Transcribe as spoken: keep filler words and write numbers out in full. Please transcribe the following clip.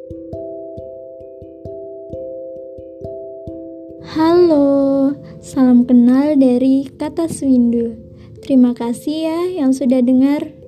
Halo, salam kenal dari Kata Swindu. Terima kasih ya yang sudah dengar.